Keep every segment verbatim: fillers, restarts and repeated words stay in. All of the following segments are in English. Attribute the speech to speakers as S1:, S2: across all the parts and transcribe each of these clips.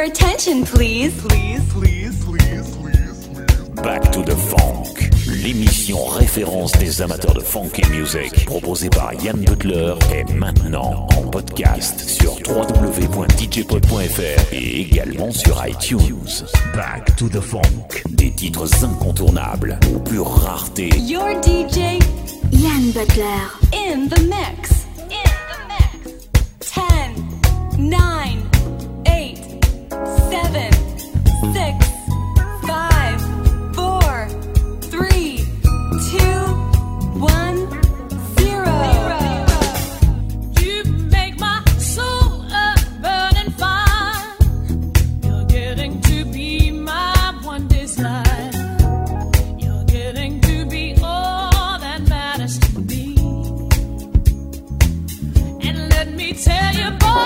S1: attention, please.
S2: Please, please, please, please, please.
S3: Back to the Funk, l'émission référence des amateurs de funky music, proposée par Yann Butler, est maintenant en podcast sur w w w point d j pod point f r et également sur iTunes. Back to the Funk, des titres incontournables aux pures raretés.
S1: Your D J,
S4: Yann Butler,
S1: in the mix. In the mix. ten, nine, eight, seven, six, five, four, three, two, one, zero.
S5: You make my soul a burning fire. You're getting to be my one desire. You're getting to be all that matters to me. And let me tell you, boy,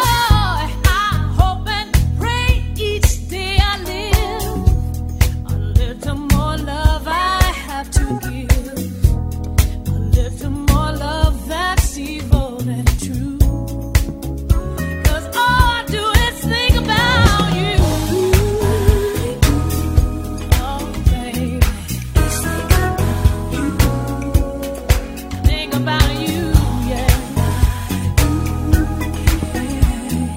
S6: About you, yeah.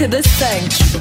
S1: to the cinq.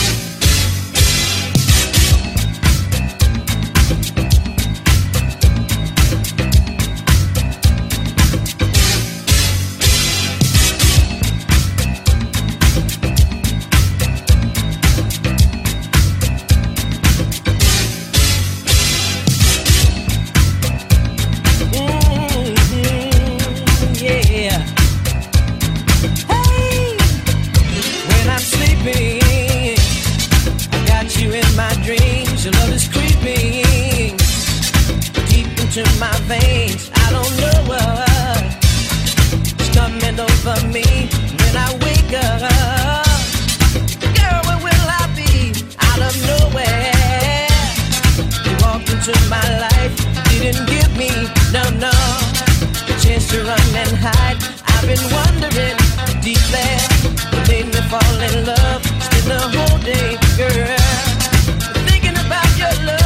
S6: My veins, I don't know what's coming over me when I wake up. Girl, where will I be? Out of nowhere, you walked into my life, didn't give me, no, no, a chance to run and hide. I've been wondering deeply, what made me fall in love. Spend the whole day, girl, thinking about your love.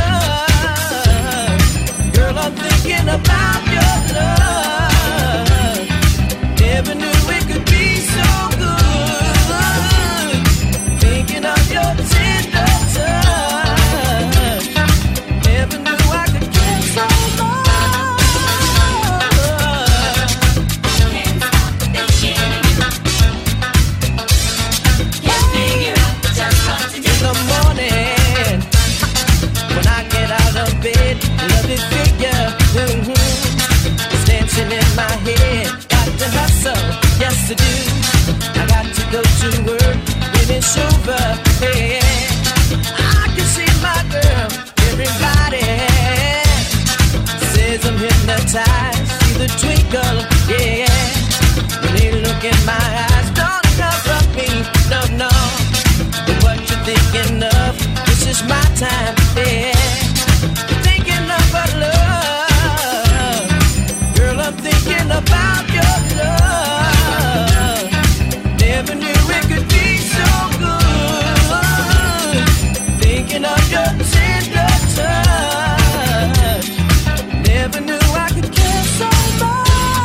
S6: I'm thinking about your love. Never knew it could be so good. Thinking of your tender touch. Never knew I could care so much. Can't stop thinking. Can't figure out just what to do. In the morning, when I get out of bed, love it figure, mm-hmm. It's dancing in my head. Got to hustle, yes I do. I got to go to work when it's over, yeah. I can see my girl, everybody says I'm hypnotized. See the twinkle, yeah. When they look in my eyes, don't cover me, no, no. But what you thinking of? This is my time, yeah. Thinking about your love. Never knew it could be so good. Thinking of your tender touch. Never knew I could care so much.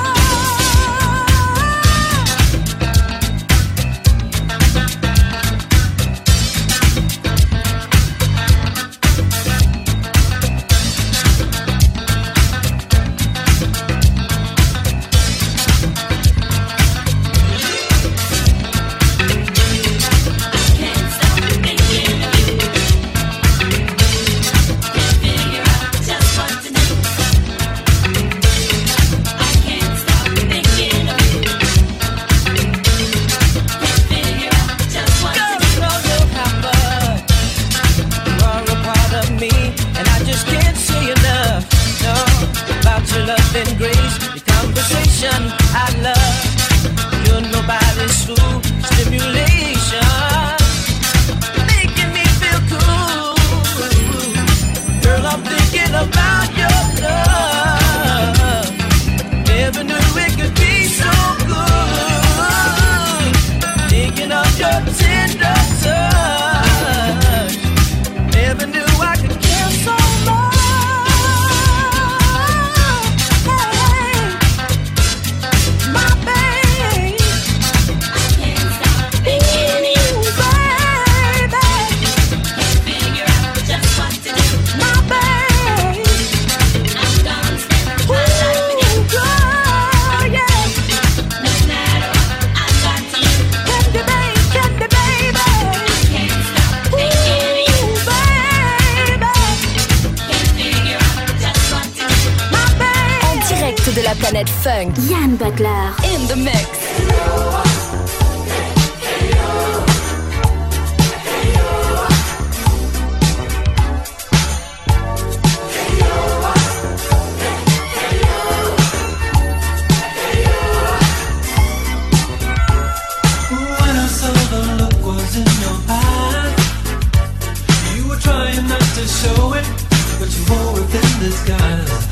S1: Funk.
S4: Yann Butler.
S1: In the mix.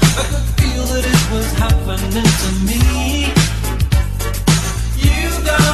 S7: Happening to me, you got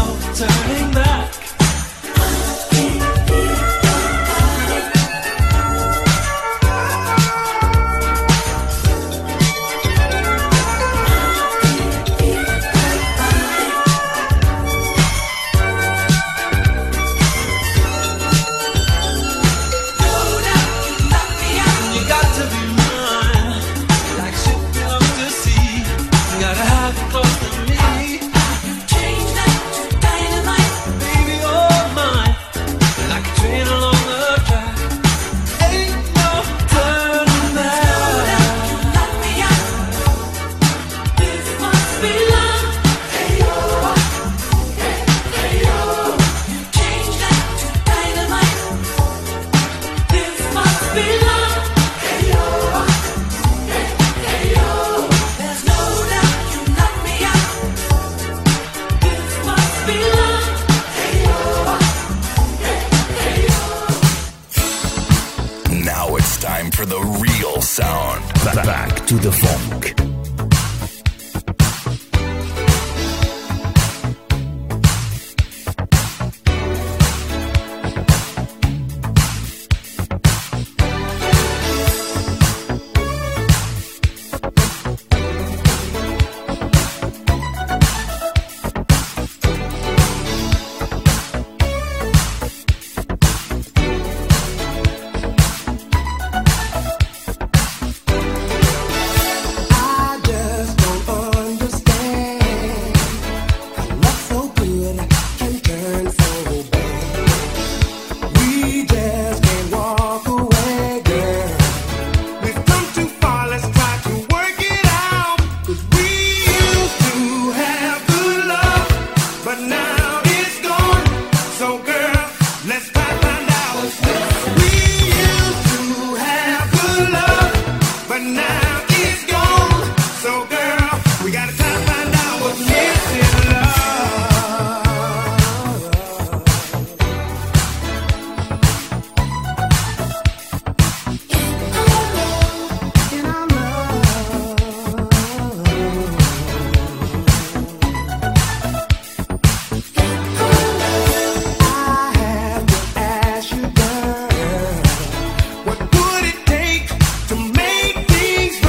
S7: turning back.
S3: To the funk.
S8: What would it take to make things right?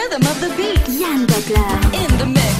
S1: rhythm of the beat.
S4: Yann Butler.
S1: In the mix.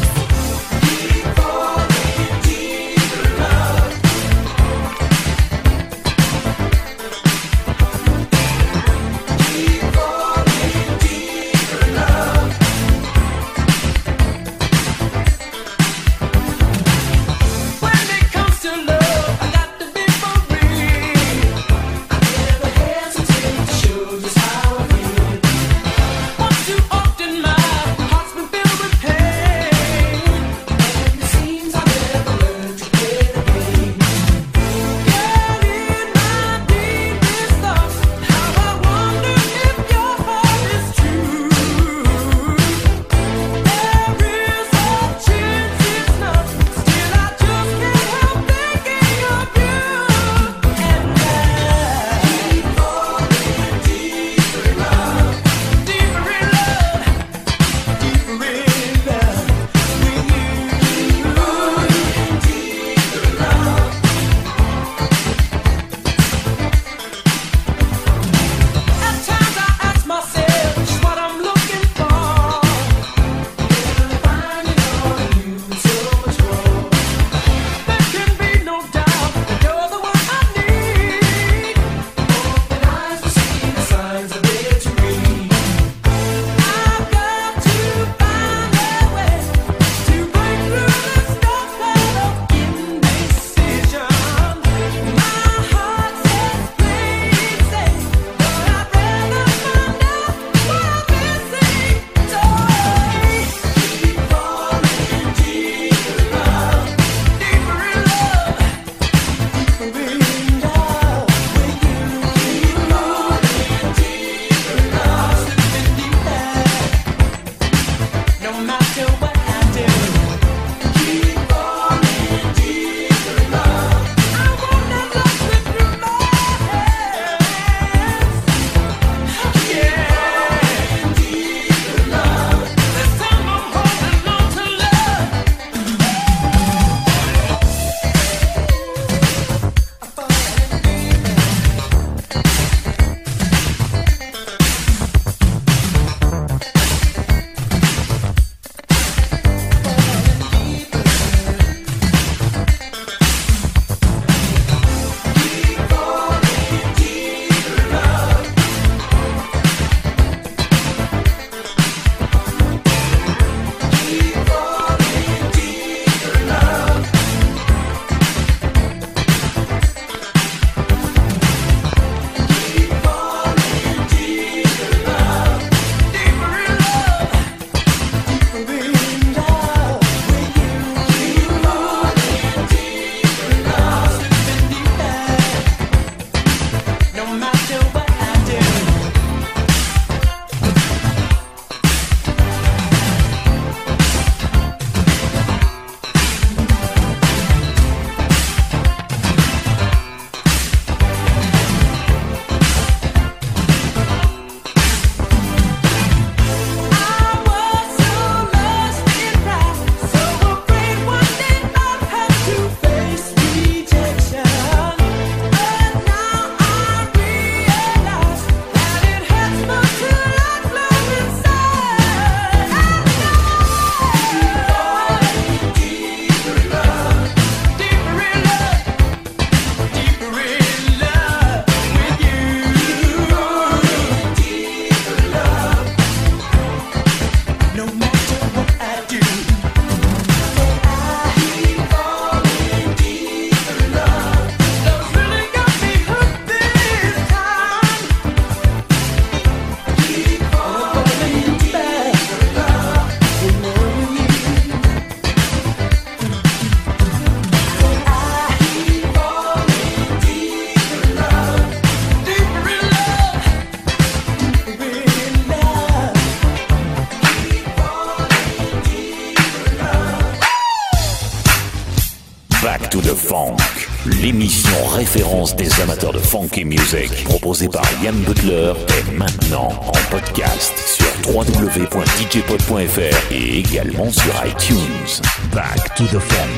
S3: Back to the Funk, l'émission référence des amateurs de funky music, proposée par Yann Butler, est maintenant en podcast sur w w w point d j pod point f r et également sur iTunes. Back to the Funk.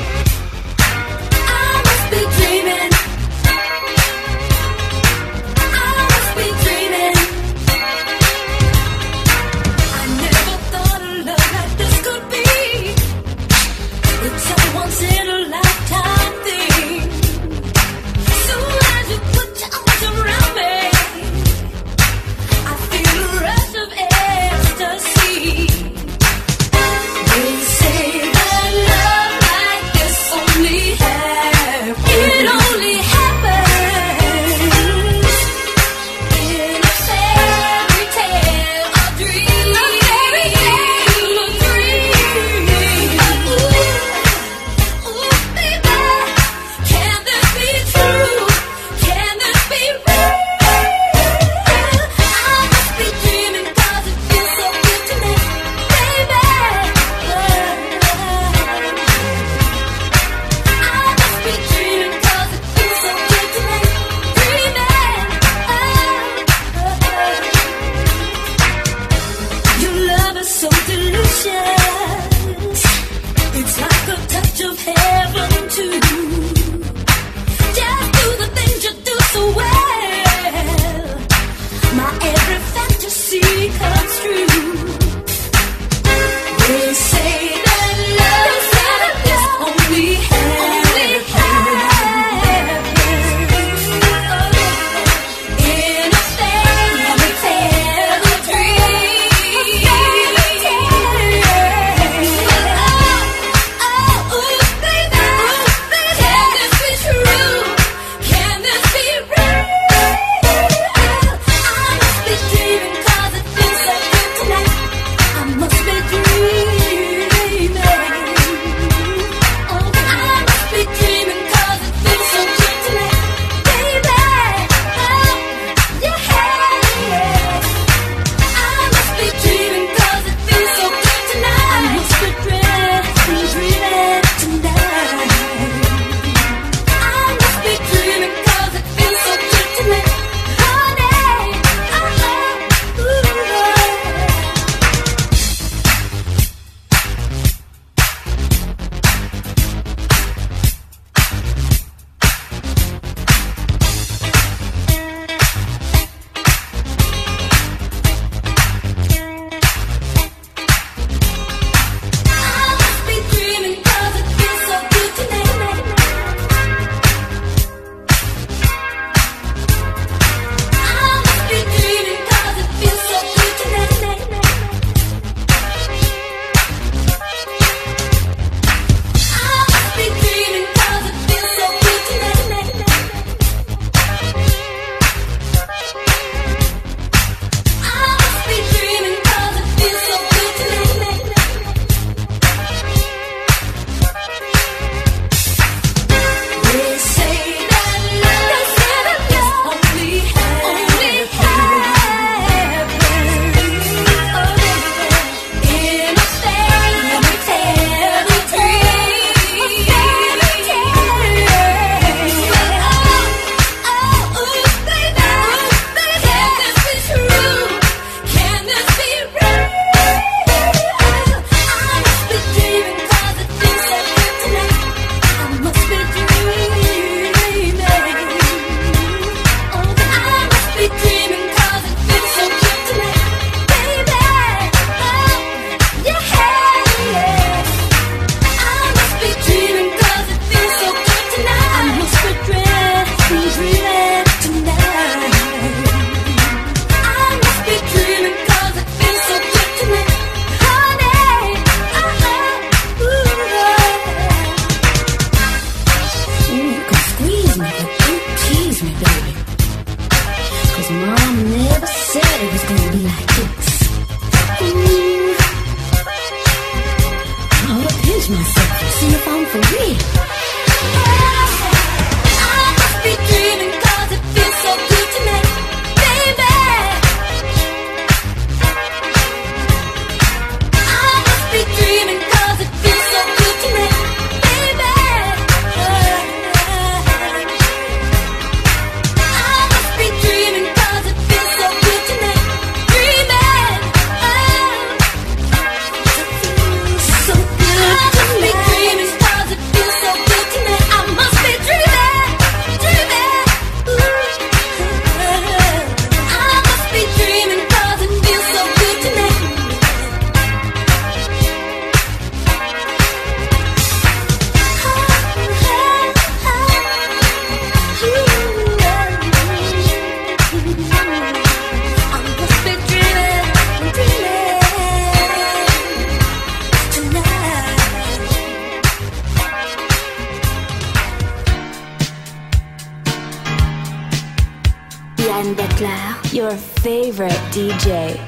S4: I must be dreaming. I must be dreaming. I never thought
S5: so delicious. It's like a touch of heaven too. Just do the things you do so well. My every fantasy comes true. They say that love, they say that love only happens, only happens in a fairy tale dream. Oh, oh, ooh, baby, can this be true? Can this be real? I must be dreaming 'cause it feels so good tonight. I must be dreaming. Oh, I must be dreaming 'cause it feels so good tonight, baby. Oh, yeah. I must be dreaming 'cause it feels so good tonight. I must be dreaming, dreaming tonight. I must be dreaming 'cause it feels so good tonight, honey. Oh, ooh. I must be dreaming 'cause it feels so good tonight. I must be dreaming 'cause it feels so good tonight. I must be dreaming 'cause it feels so good tonight. I must be dreaming 'cause it feels so good tonight. They say that love, they say that love only happens, only happens in a fairy tale dream. Oh, oh, ooh, baby, can this be true? Can this be real? I must be dreaming 'cause it feels so good tonight. I must be dreaming. Oh, I must be dreaming 'cause it feels so good tonight, baby. Oh, yeah. I must be dreaming 'cause it feels so good tonight. I must be dreaming, dreaming tonight. I must be dreaming 'cause it feels so good tonight, honey. Oh, ooh.
S7: Ooh, you can squeeze me, but don't tease me, baby. 'Cause Mom never said it was gonna be like this. Ooh. I ought to pinch myself and see if I'm for real.
S5: I must be dreaming 'cause it feels so good tonight, baby. I must be dreaming 'cause it feels so good tonight, baby. I must be dreaming 'cause it feels so good tonight, dreaming. So good. I must be dreaming 'cause it feels so good tonight. I must be dreaming, dreaming. Ooh. I must be dreaming 'cause it feels so good tonight. I must be dreaming, dreaming tonight.
S1: Yann Butler, your favorite D J.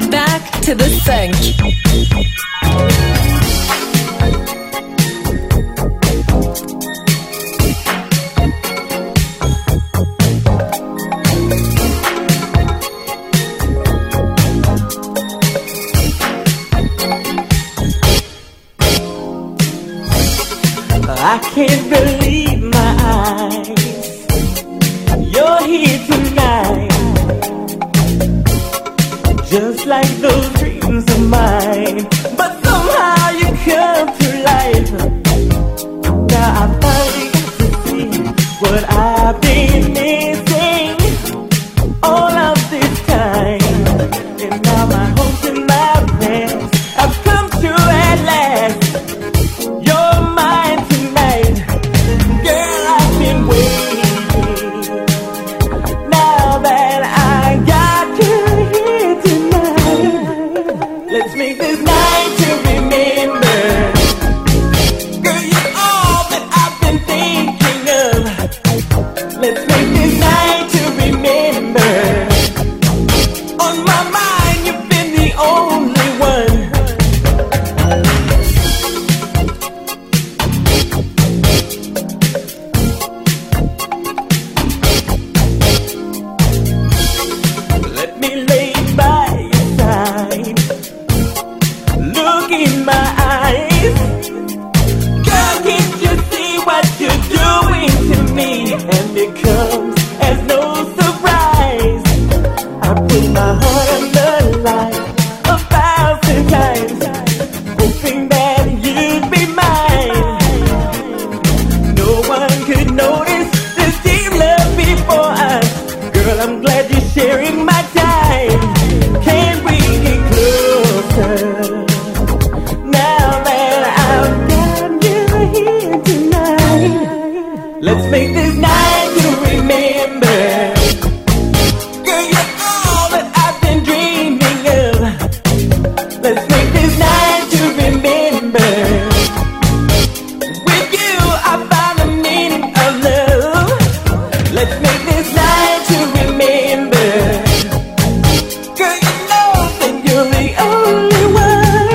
S8: back to the funk.
S9: I can't believe my eyes. You're here tonight, just like those dreams of mine. But somehow you come to life. Now I finally got to see what I've been missing all of this time. And now my hopes and my plans have come true at last. You're mine tonight, girl. I've been waiting. Now that I got you here tonight, let's make this night to remember. Girl, you're all that I've been thinking of. Let's make this night to remember. On my mind, you've been the only one. Let me lay by your side. Look in my eyes. Girl, can't you see what you're doing to me? And it comes as no surprise. I put my heart on the line a thousand times, hoping that you'd be mine. No one could notice this deep love before us. Girl, I'm glad you're sharing my time. Can we get closer? Now that I've got you here tonight, let's make this night to remember. Girl, you're all that I've been dreaming of. Let's make this night to remember. With you, I found the meaning of love. Let's make this night to remember. Girl, you know that you're the only one.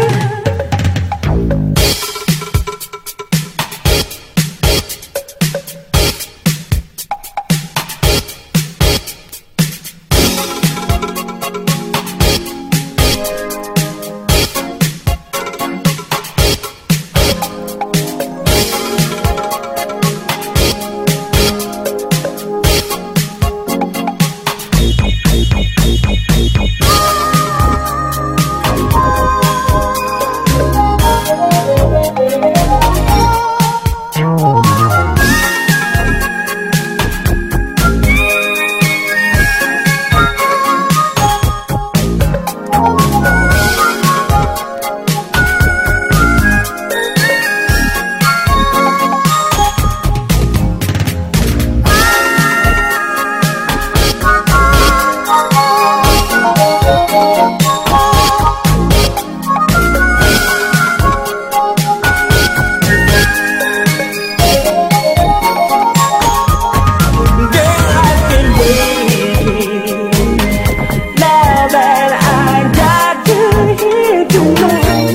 S9: Girl, I've been waiting. Now that I got you here tonight,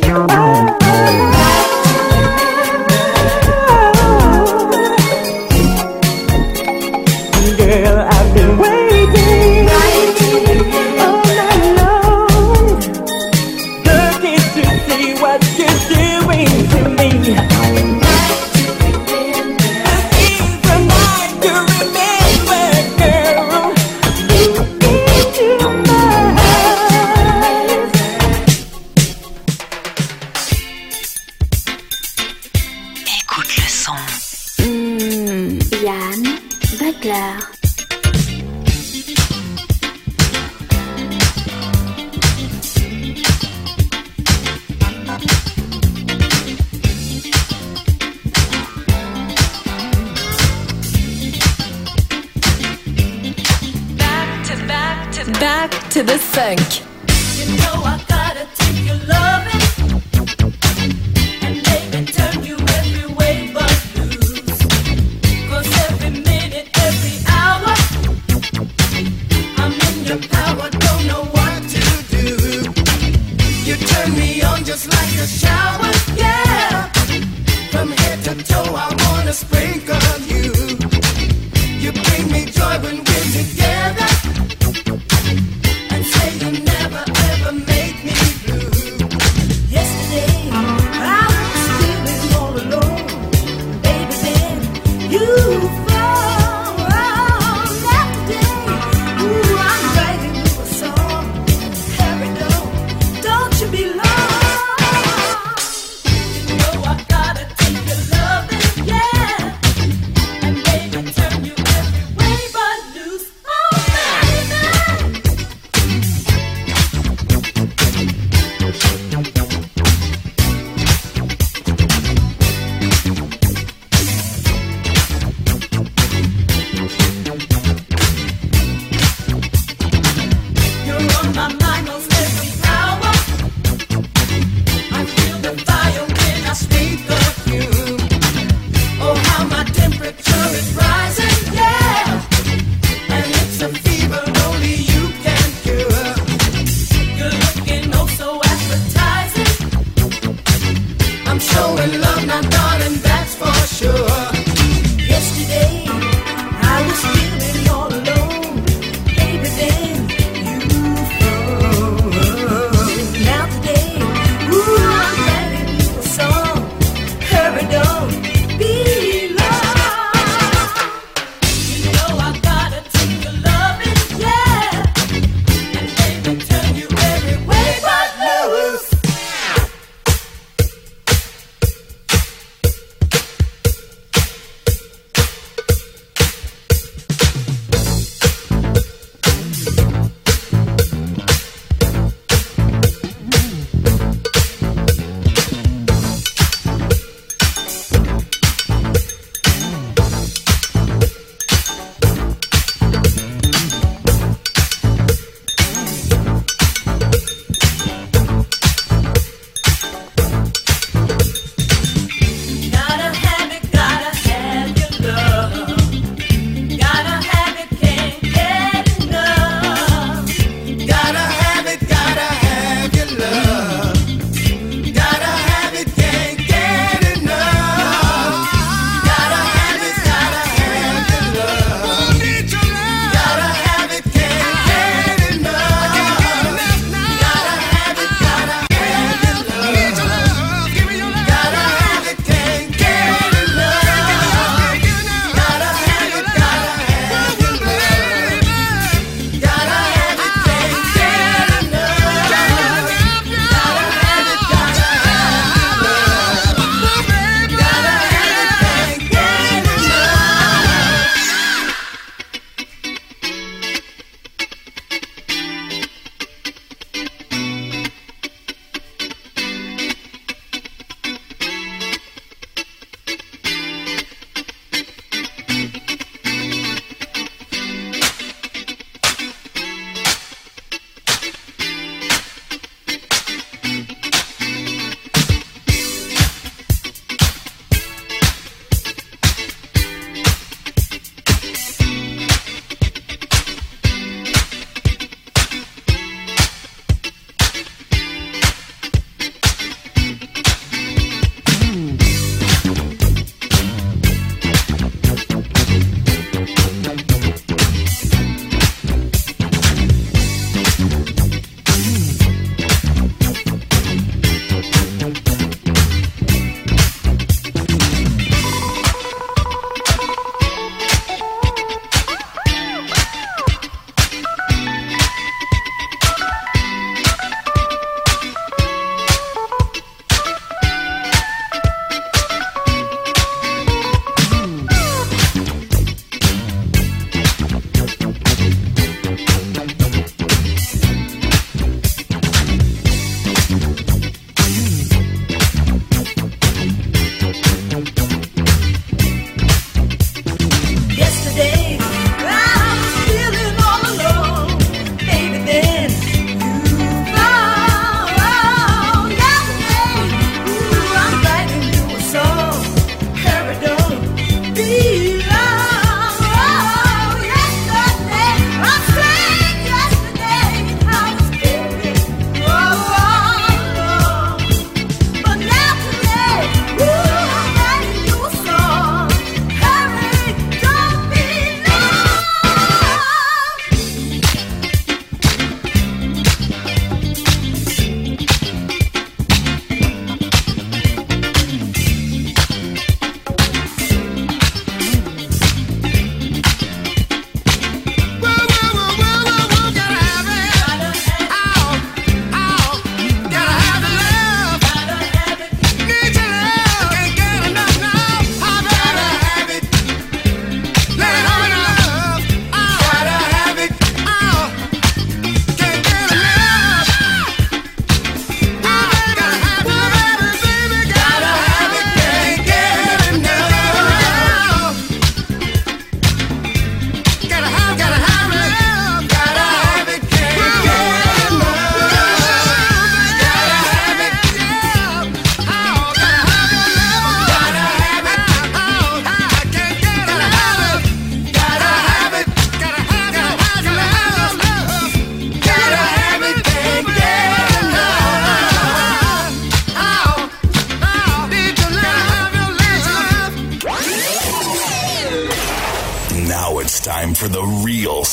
S9: girl, I've been waiting all night long, looking to see what you're doing to me. This is the night to remember, girl. Look into my eyes.
S8: Écoute le son.
S1: Mmh, Yann Butler.
S8: Back to back to back to the funk.
S5: You know I gotta take your loving and make it turn you every way but loose. 'Cause every minute, every hour, I'm in your power, don't know what to do.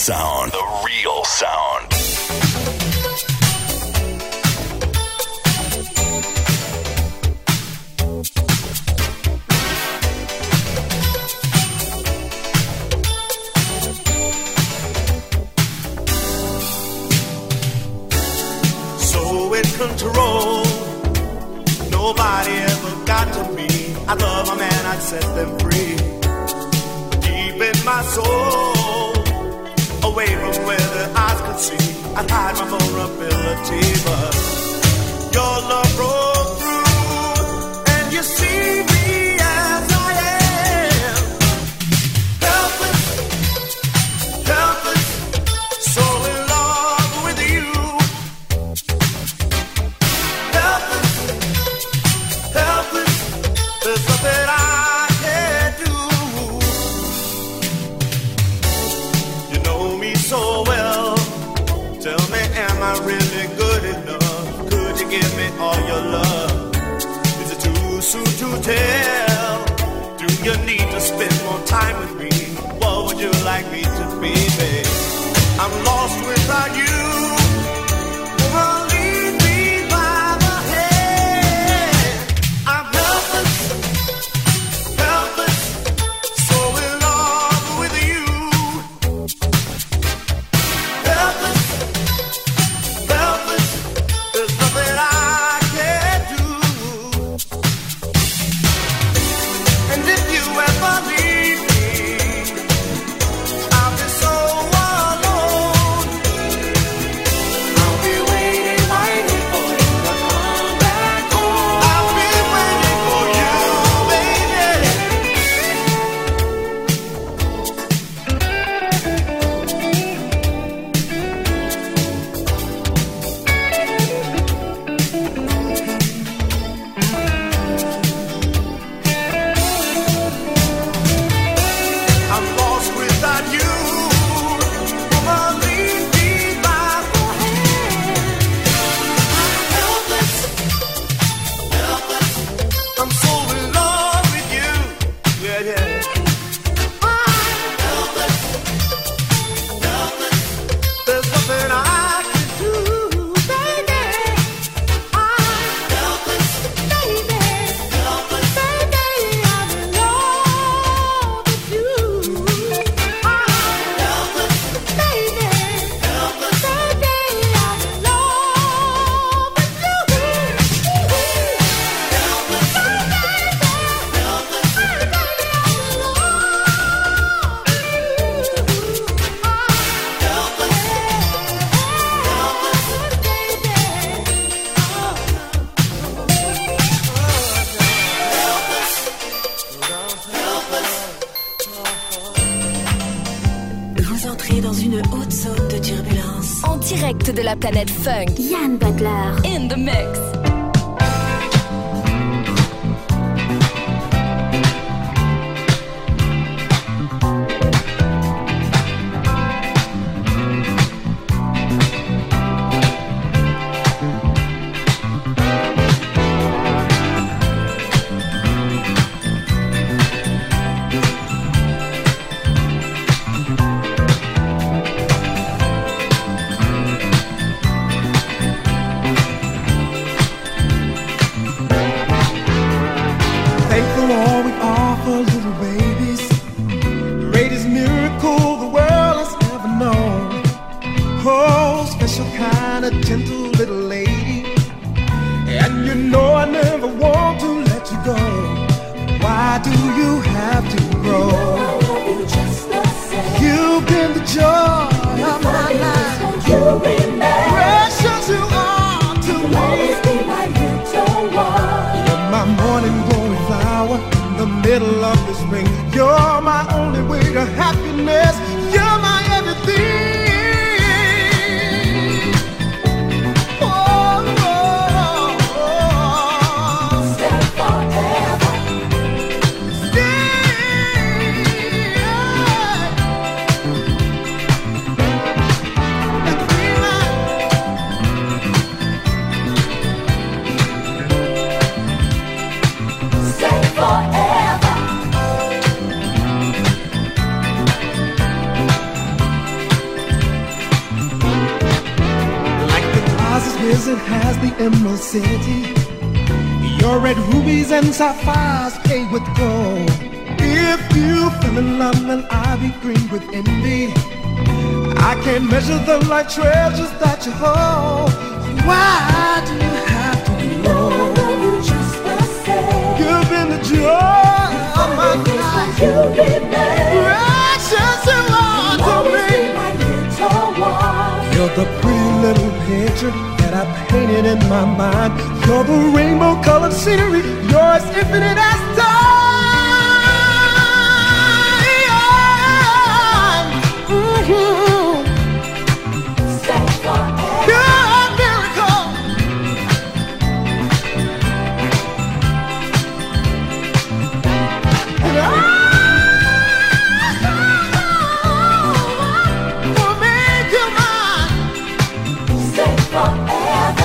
S10: sound. The real sound.
S2: So in control, nobody ever got to me. I love a man, I'd set them free. Deep in my soul, away from where the eyes could see, I'd hide my vulnerability, but your love broke through, and you see me as I am. Helpless, helpless, so in love with you. Helpless, helpless, there's nothing I can't do. You know me so well. Tell me, am I really good enough? Could you give me all your love? Is it too soon to tell? Do you need to spend more time with me? What would you like me to be, babe? I'm lost without you. Woman, lead me by the hand. I'm helpless, helpless, so in love with you. Helpless, helpless, there's nothing I can't do. And if you ever leave me, I'll be so alone. I'll be waiting, waiting for you to come back home. I'll be waiting for you, baby. I'm lost without you. Woman, lead me by the hand. Helpless, helpless, I'm so in love with you. Yeah, yeah. I'm helpless, helpless, there's nothing I can do, baby. I'm helpless, baby, helpless, baby, I'm in love with you. I'm helpless, baby, helpless, baby, I'm in love with you. Helpless, baby, helpless, baby,
S8: Vous entrez dans une haute zone de turbulence.
S11: En direct de la planète Funk.
S1: Yann Butler.
S11: In the mix.
S12: Thankful all we offer little babies. Greatest miracle the world has ever known. Oh, special kind of gentle little lady. And you know I never want to let you go. Why do you have to grow? You've been the joy of my life. Precious you are to me. You're my morning glory flower in the middle of the spring. You're my only way to happiness. You're my everything. Oh, oh, oh. Stay forever. Stay forever. as the Emerald City. Your red rubies and sapphires paved with gold. If you fell in love, then I'll be green with envy. I can't measure them like treasures that you hold. Why do you have to know? You just the same. You've been the joy of my life. You precious you are to me. You're the pretty little picture that I painted in my mind. You're the rainbow-colored scenery. You're as infinite as time. Mm-hmm. Stay forever. You're a miracle. And I will make you mine. Stay forever.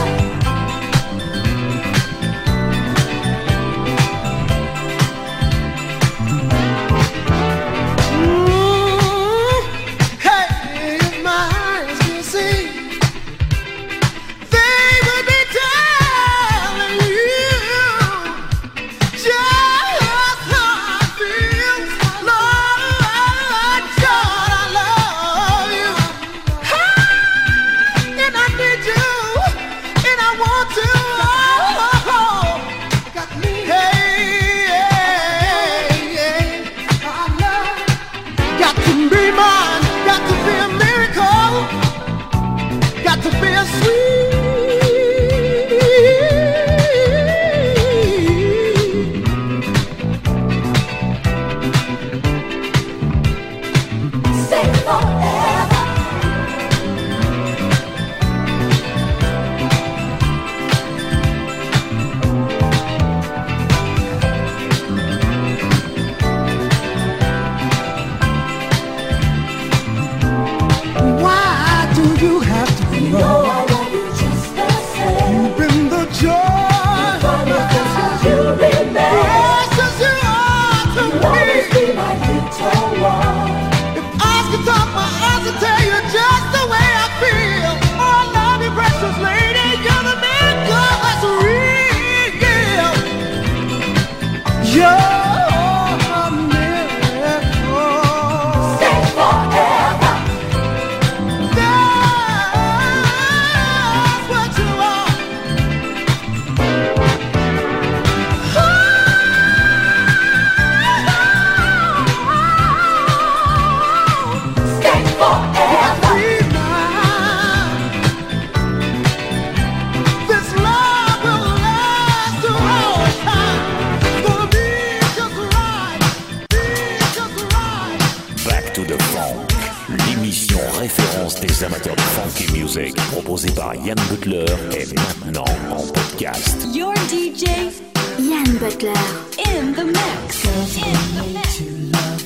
S3: Des amateurs de funky music, proposé par Yann Butler, est maintenant en podcast.
S8: Your D J,
S1: Yann Butler,
S8: in the mix.
S6: Girls
S8: in the
S6: need
S8: mix.
S6: to love.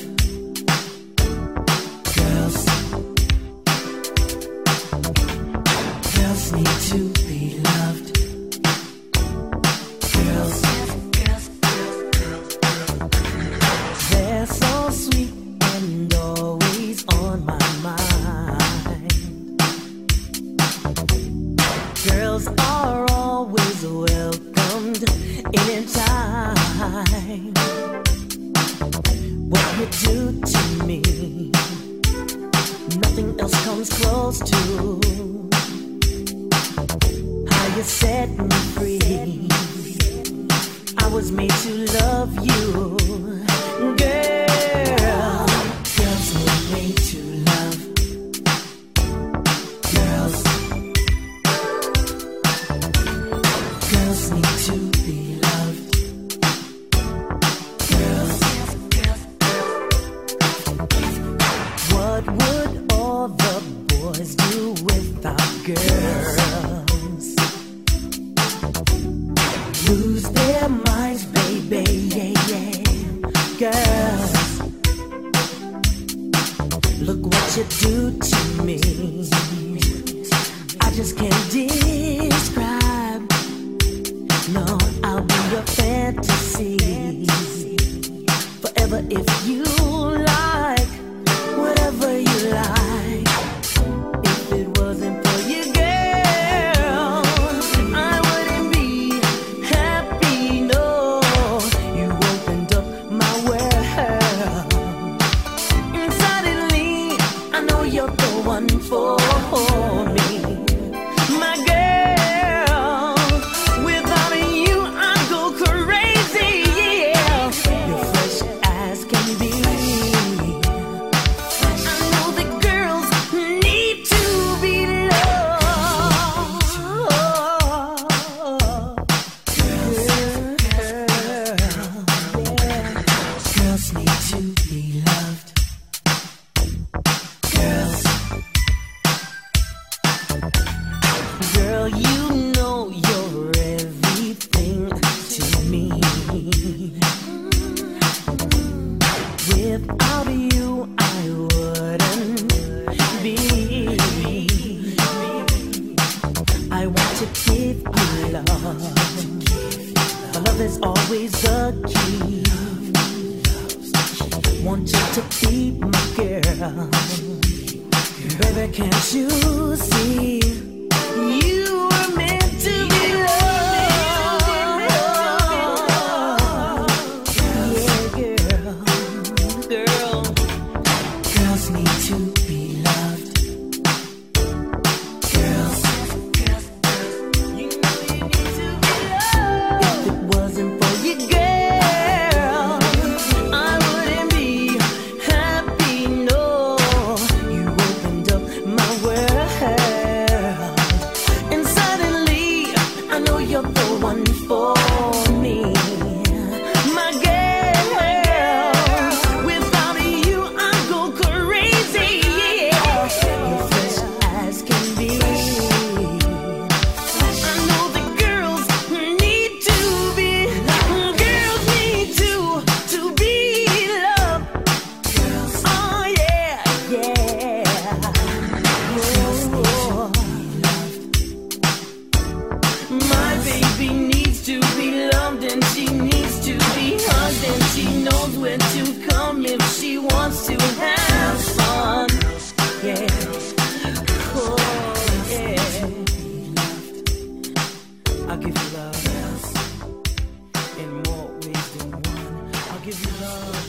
S6: Girls, girls need to be loved. Girls, girls, girls, they're so sweet and always on my mind. Girls are always welcomed anytime. What you do to me, nothing else comes close to. How you set me free, I was made to love you. Girl, girls were made to love. Girls, girls need to be loved. Girls, what would all the boys do without girls? Lose their minds, baby, yeah, yeah. Girls, look what you do to me. I just can't describe, no. love. My love is always the key. Want you to be my girl. Baby, can't you see? You were meant to be loved. Yeah, girl, girl. Girls need to be loved. Girls, girls, you know you need to be loved. If it wasn't for you, girl, I wouldn't be happy. No, you opened up my world, and suddenly I know you're the one for me, my girl. Without you, I go crazy. You're fresh as can be. I know the girls need to be, girls need to to be loved. Oh yeah, yeah. Oh, my baby needs to be loved, and she needs to be hugged, and she knows where to come if she wants to have fun. Yeah. Oh, yeah. I'll give you love in more ways than one. I'll give you love.